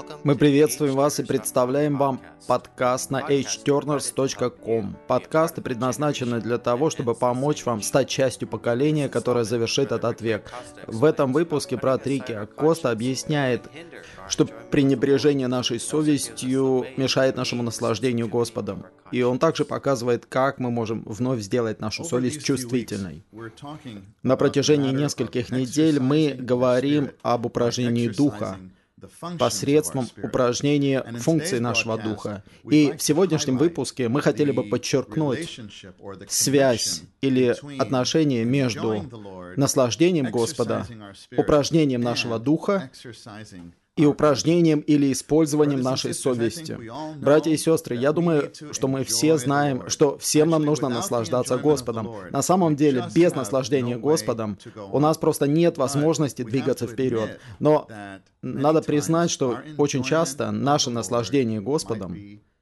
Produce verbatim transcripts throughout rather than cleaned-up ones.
Мы приветствуем вас и представляем вам подкаст на эйч тернерс точка ком. Подкасты предназначены для того, чтобы помочь вам стать частью поколения, которое завершит этот век. В этом выпуске брат Рики Акоста объясняет, что пренебрежение нашей совестью мешает нашему наслаждению Господом. И он также показывает, как мы можем вновь сделать нашу совесть чувствительной. На протяжении нескольких недель мы говорим об упражнении духа, посредством упражнения функций нашего духа. И в сегодняшнем выпуске мы хотели бы подчеркнуть связь или отношение между наслаждением Господа, упражнением нашего духа и упражнением или использованием нашей совести. Братья и сестры, я думаю, что мы все знаем, что всем нам нужно наслаждаться Господом. На самом деле, без наслаждения Господом у нас просто нет возможности двигаться вперед. Но надо признать, что очень часто наше наслаждение Господом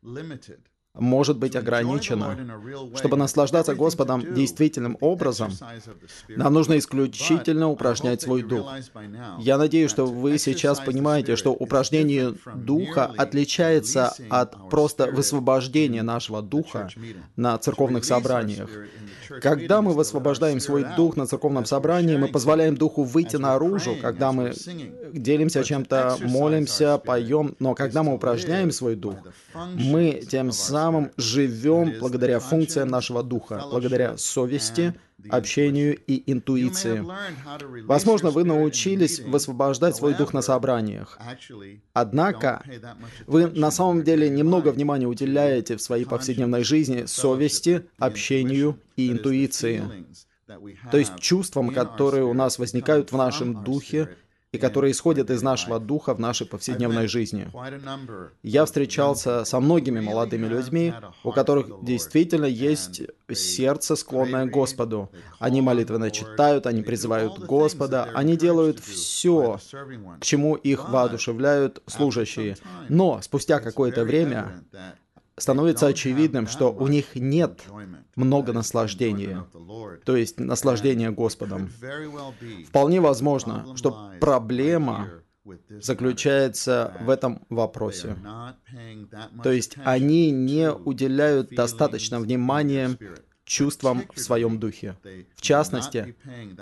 может быть ограничено. Чтобы наслаждаться Господом действительным образом, нам нужно исключительно упражнять свой дух. Я надеюсь, что вы сейчас понимаете, что упражнение духа отличается от просто высвобождения нашего духа на церковных собраниях. Когда мы высвобождаем свой дух на церковном собрании, мы позволяем духу выйти наружу, когда мы делимся чем-то, молимся, поем, но когда мы упражняем свой дух, мы тем самым живем благодаря функциям нашего духа, благодаря совести, общению и интуиции. Возможно, вы научились высвобождать свой дух на собраниях. Однако, вы на самом деле немного внимания уделяете в своей повседневной жизни совести, общению и интуиции. То есть чувствам, которые у нас возникают в нашем духе, и которые исходят из нашего духа в нашей повседневной жизни. Я встречался со многими молодыми людьми, у которых действительно есть сердце, склонное к Господу. Они молитвенно читают, они призывают Господа, они делают все, к чему их воодушевляют служащие. Но спустя какое-то время становится очевидным, что у них нет много наслаждения, то есть наслаждения Господом. Вполне возможно, что проблема заключается в этом вопросе. То есть они не уделяют достаточно внимания чувствам в своем духе. В частности,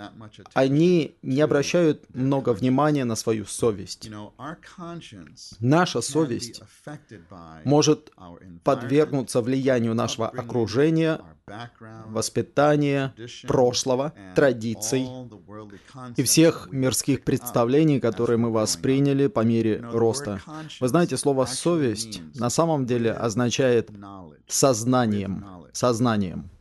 они не обращают много внимания на свою совесть. Наша совесть может подвергнуться влиянию нашего окружения, воспитания, прошлого, традиций и всех мирских представлений, которые мы восприняли по мере роста. Вы знаете, слово «совесть» на самом деле означает «сознанием», «сознанием».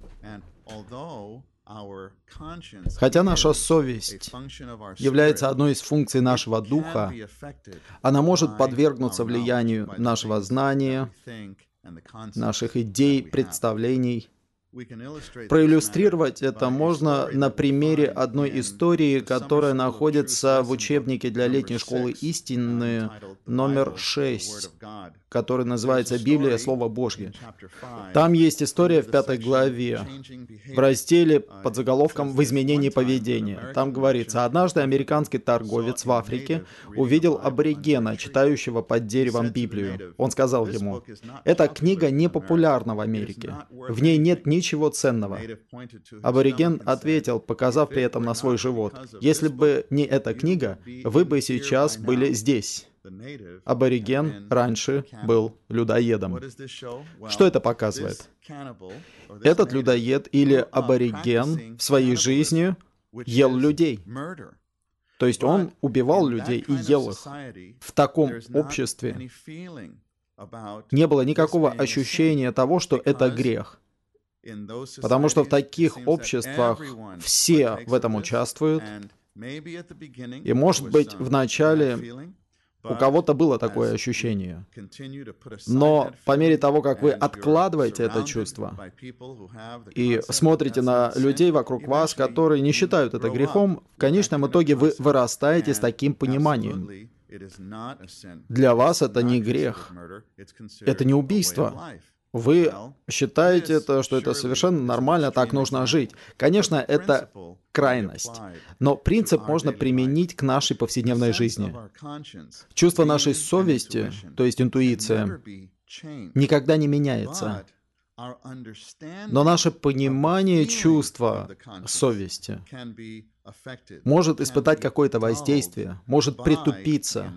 Хотя наша совесть является одной из функций нашего духа, она может подвергнуться влиянию нашего знания, наших идей, представлений. Проиллюстрировать это можно на примере одной истории, которая находится в учебнике для летней школы истины номер шесть, который называется «Библия. Слово Божье». Там есть история в пятой главе, в разделе под заголовком «В изменении поведения». Там говорится: однажды американский торговец в Африке увидел аборигена, читающего под деревом Библию. Он сказал ему: «Эта книга не популярна в Америке. В ней нет ничего ценного». Абориген ответил, показав при этом на свой живот: «Если бы не эта книга, вы бы сейчас были здесь». Абориген раньше был людоедом. Что это показывает? Этот людоед или абориген в своей жизни ел людей. То есть он убивал людей и ел их. В таком обществе не было никакого ощущения того, что это грех. Потому что в таких обществах все в этом участвуют. И, может быть, в начале у кого-то было такое ощущение. Но по мере того, как вы откладываете это чувство и смотрите на людей вокруг вас, которые не считают это грехом, в конечном итоге вы вырастаете с таким пониманием. Для вас это не грех, это не убийство. Вы считаете, это, что это совершенно нормально, так нужно жить. Конечно, это крайность, но принцип можно применить к нашей повседневной жизни. Чувство нашей совести, то есть интуиция, никогда не меняется. Но наше понимание чувства совести может испытать какое-то воздействие, может притупиться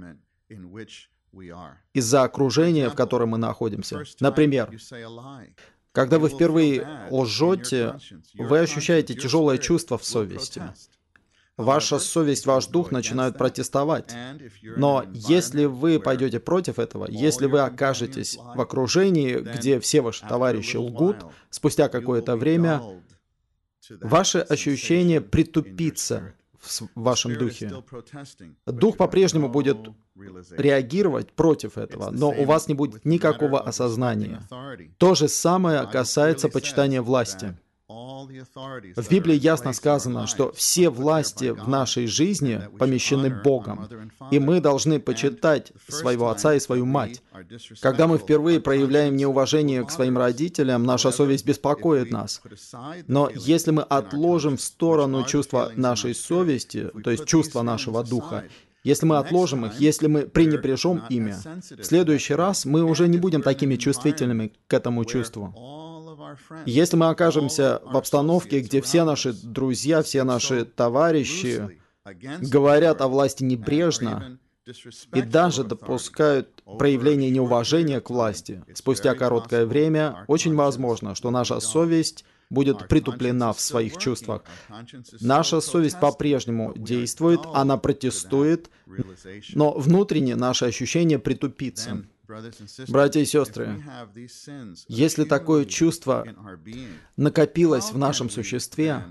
из-за окружения, в котором мы находимся. Например, когда вы впервые лжете, вы ощущаете тяжелое чувство в совести. Ваша совесть, ваш дух начинают протестовать. Но если вы пойдете против этого, если вы окажетесь в окружении, где все ваши товарищи лгут, спустя какое-то время ваше ощущение притупится в вашем духе. Дух по-прежнему будет реагировать против этого, но у вас не будет никакого осознания. То же самое касается почитания власти. В Библии ясно сказано, что все власти в нашей жизни помещены Богом, и мы должны почитать своего отца и свою мать. Когда мы впервые проявляем неуважение к своим родителям, наша совесть беспокоит нас. Но если мы отложим в сторону чувства нашей совести, то есть чувства нашего духа, если мы отложим их, если мы пренебрежем ими, в следующий раз мы уже не будем такими чувствительными к этому чувству. Если мы окажемся в обстановке, где все наши друзья, все наши товарищи говорят о власти небрежно и даже допускают проявление неуважения к власти, спустя короткое время очень возможно, что наша совесть будет притуплена в своих чувствах. Наша совесть по-прежнему действует, она протестует, но внутренне наше ощущение притупится. Братья и сестры, если такое чувство накопилось в нашем существе,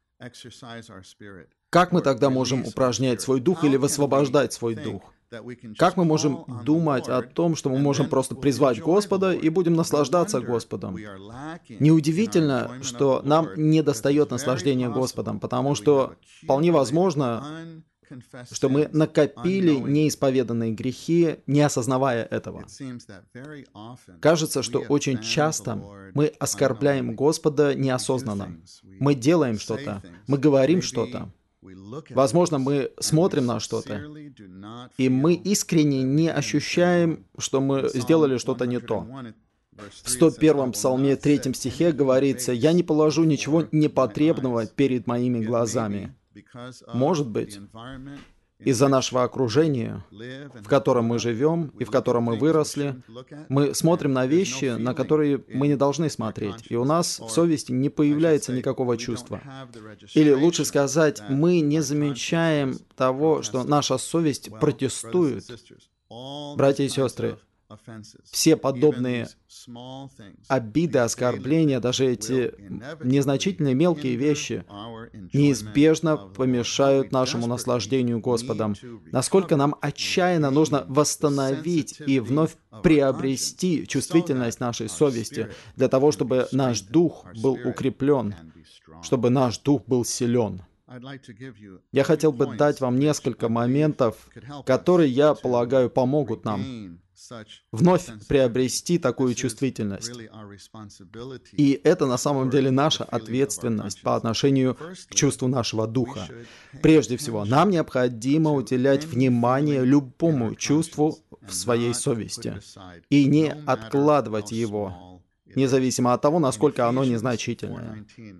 как мы тогда можем упражнять свой дух или высвобождать свой дух? Как мы можем думать о том, что мы можем просто призвать Господа и будем наслаждаться Господом? Неудивительно, что нам недостает наслаждения Господом, потому что вполне возможно, что мы накопили неисповеданные грехи, не осознавая этого. Кажется, что очень часто мы оскорбляем Господа неосознанно. Мы делаем что-то, мы говорим что-то. Возможно, мы смотрим на что-то, и мы искренне не ощущаем, что мы сделали что-то не то. В сто первом псалме третьем стихе говорится: «Я не положу ничего непотребного перед моими глазами». Может быть, из-за нашего окружения, в котором мы живем и в котором мы выросли, мы смотрим на вещи, на которые мы не должны смотреть, и у нас в совести не появляется никакого чувства. Или лучше сказать, мы не замечаем того, что наша совесть протестует. Братья и сестры, все подобные обиды, оскорбления, даже эти незначительные мелкие вещи неизбежно помешают нашему наслаждению Господом. Насколько нам отчаянно нужно восстановить и вновь приобрести чувствительность нашей совести для того, чтобы наш дух был укреплен, чтобы наш дух был силен. Я хотел бы дать вам несколько моментов, которые, я полагаю, помогут нам вновь приобрести такую чувствительность. И это на самом деле наша ответственность по отношению к чувству нашего духа. Прежде всего, нам необходимо уделять внимание любому чувству в своей совести и не откладывать его, независимо от того, насколько оно незначительное.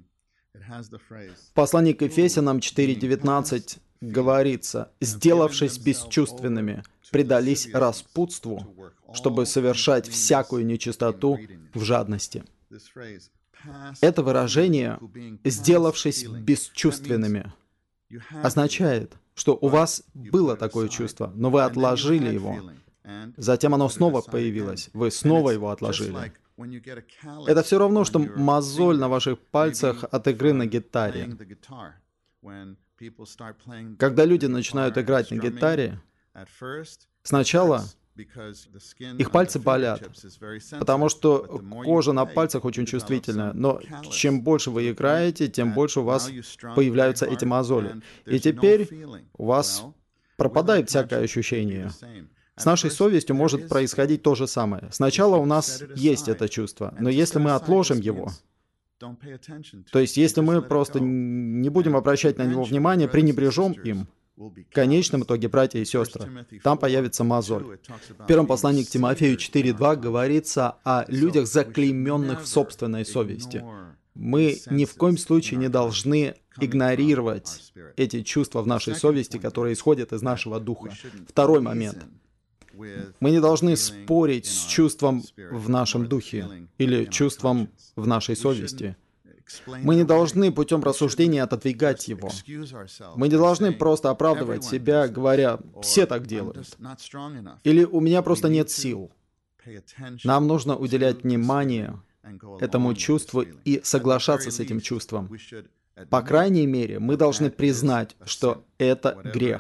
В послании к Ефесянам четыре девятнадцать говорится: «Сделавшись бесчувственными, предались распутству, чтобы совершать всякую нечистоту в жадности». Это выражение «сделавшись бесчувственными» означает, что у вас было такое чувство, но вы отложили его. Затем оно снова появилось, вы снова его отложили. Это все равно, что мозоль на ваших пальцах от игры на гитаре. Когда люди начинают играть на гитаре, сначала их пальцы болят, потому что кожа на пальцах очень чувствительная, но чем больше вы играете, тем больше у вас появляются эти мозоли. И теперь у вас пропадает всякое ощущение. С нашей совестью может происходить то же самое. Сначала у нас есть это чувство, но если мы отложим его, то есть если мы просто не будем обращать на него внимание, пренебрежем им, в конечном итоге, братья и сестры, там появится мозоль. В первом послании к Тимофею четыре два говорится о людях, заклейменных в собственной совести. Мы ни в коем случае не должны игнорировать эти чувства в нашей совести, которые исходят из нашего духа. Второй момент. Мы не должны спорить с чувством в нашем духе или чувством в нашей совести. Мы не должны путем рассуждения отодвигать его. Мы не должны просто оправдывать себя, говоря, все так делают. Или у меня просто нет сил. Нам нужно уделять внимание этому чувству и соглашаться с этим чувством. По крайней мере, мы должны признать, что это грех.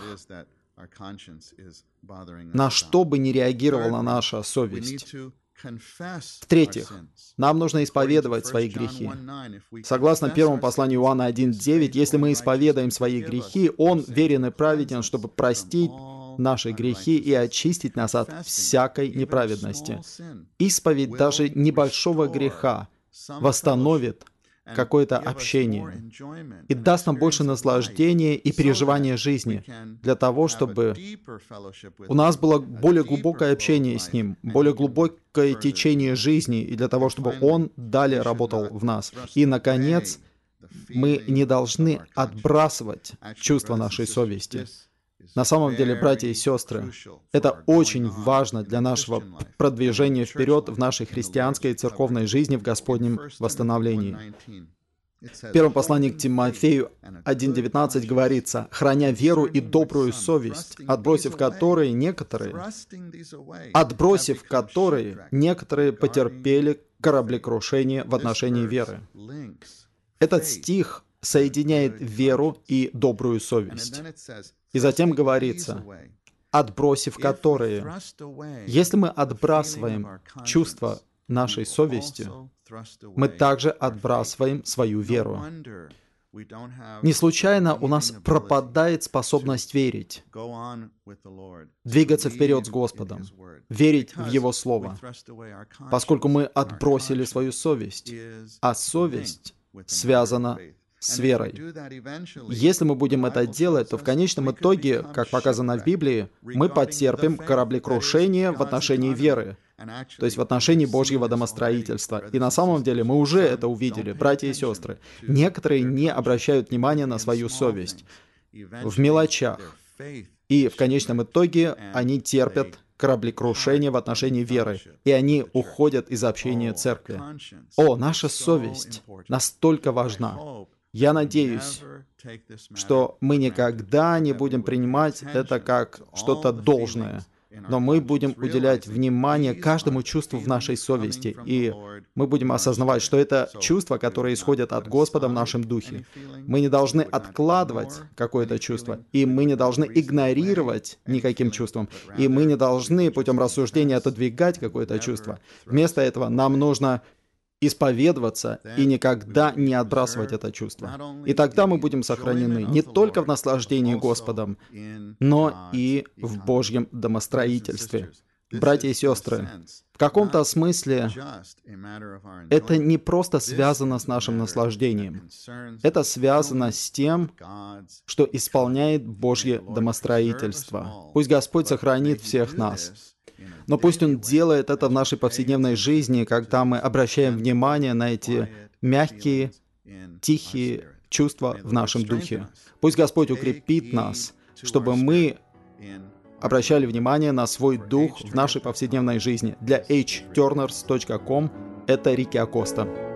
На что бы ни реагировала наша совесть. В-третьих, нам нужно исповедовать свои грехи. Согласно первому посланию Иоанна один девять, если мы исповедаем свои грехи, Он верен и праведен, чтобы простить наши грехи и очистить нас от всякой неправедности. Исповедь даже небольшого греха восстановит какое-то общение и даст нам больше наслаждения и переживания жизни для того, чтобы у нас было более глубокое общение с Ним, более глубокое течение жизни, и для того, чтобы Он далее работал в нас. И, наконец, мы не должны отбрасывать чувства нашей совести. На самом деле, братья и сестры, это очень важно для нашего продвижения вперед в нашей христианской и церковной жизни в Господнем восстановлении. В первом послании к Тимофею один девятнадцать говорится: «Храня веру и добрую совесть, отбросив которые некоторые, отбросив которые некоторые потерпели кораблекрушение в отношении веры». Этот стих соединяет веру и добрую совесть. И затем говорится, отбросив которые. Если мы отбрасываем чувство нашей совести, мы также отбрасываем свою веру. Не случайно у нас пропадает способность верить, двигаться вперед с Господом, верить в Его Слово, поскольку мы отбросили свою совесть, а совесть связана с верой. Если мы будем это делать, то в конечном итоге, как показано в Библии, мы потерпим кораблекрушение в отношении веры, то есть в отношении Божьего домостроительства. И на самом деле мы уже это увидели, братья и сестры. Некоторые не обращают внимания на свою совесть в мелочах. И в конечном итоге они терпят кораблекрушение в отношении веры, и они уходят из общения церкви. О, наша совесть настолько важна. Я надеюсь, что мы никогда не будем принимать это как что-то должное, но мы будем уделять внимание каждому чувству в нашей совести, и мы будем осознавать, что это чувства, которые исходят от Господа в нашем духе. Мы не должны откладывать какое-то чувство, и мы не должны игнорировать никаким чувством, и мы не должны путем рассуждения отодвигать какое-то чувство. Вместо этого нам нужно исповедоваться и никогда не отбрасывать это чувство. И тогда мы будем сохранены не только в наслаждении Господом, но и в Божьем домостроительстве. Братья и сестры, в каком-то смысле это не просто связано с нашим наслаждением. Это связано с тем, что исполняет Божье домостроительство. Пусть Господь сохранит всех нас. Но пусть Он делает это в нашей повседневной жизни, когда мы обращаем внимание на эти мягкие, тихие чувства в нашем духе. Пусть Господь укрепит нас, чтобы мы обращали внимание на свой дух в нашей повседневной жизни. Для эйч тернерс точка ком это Рики Акоста.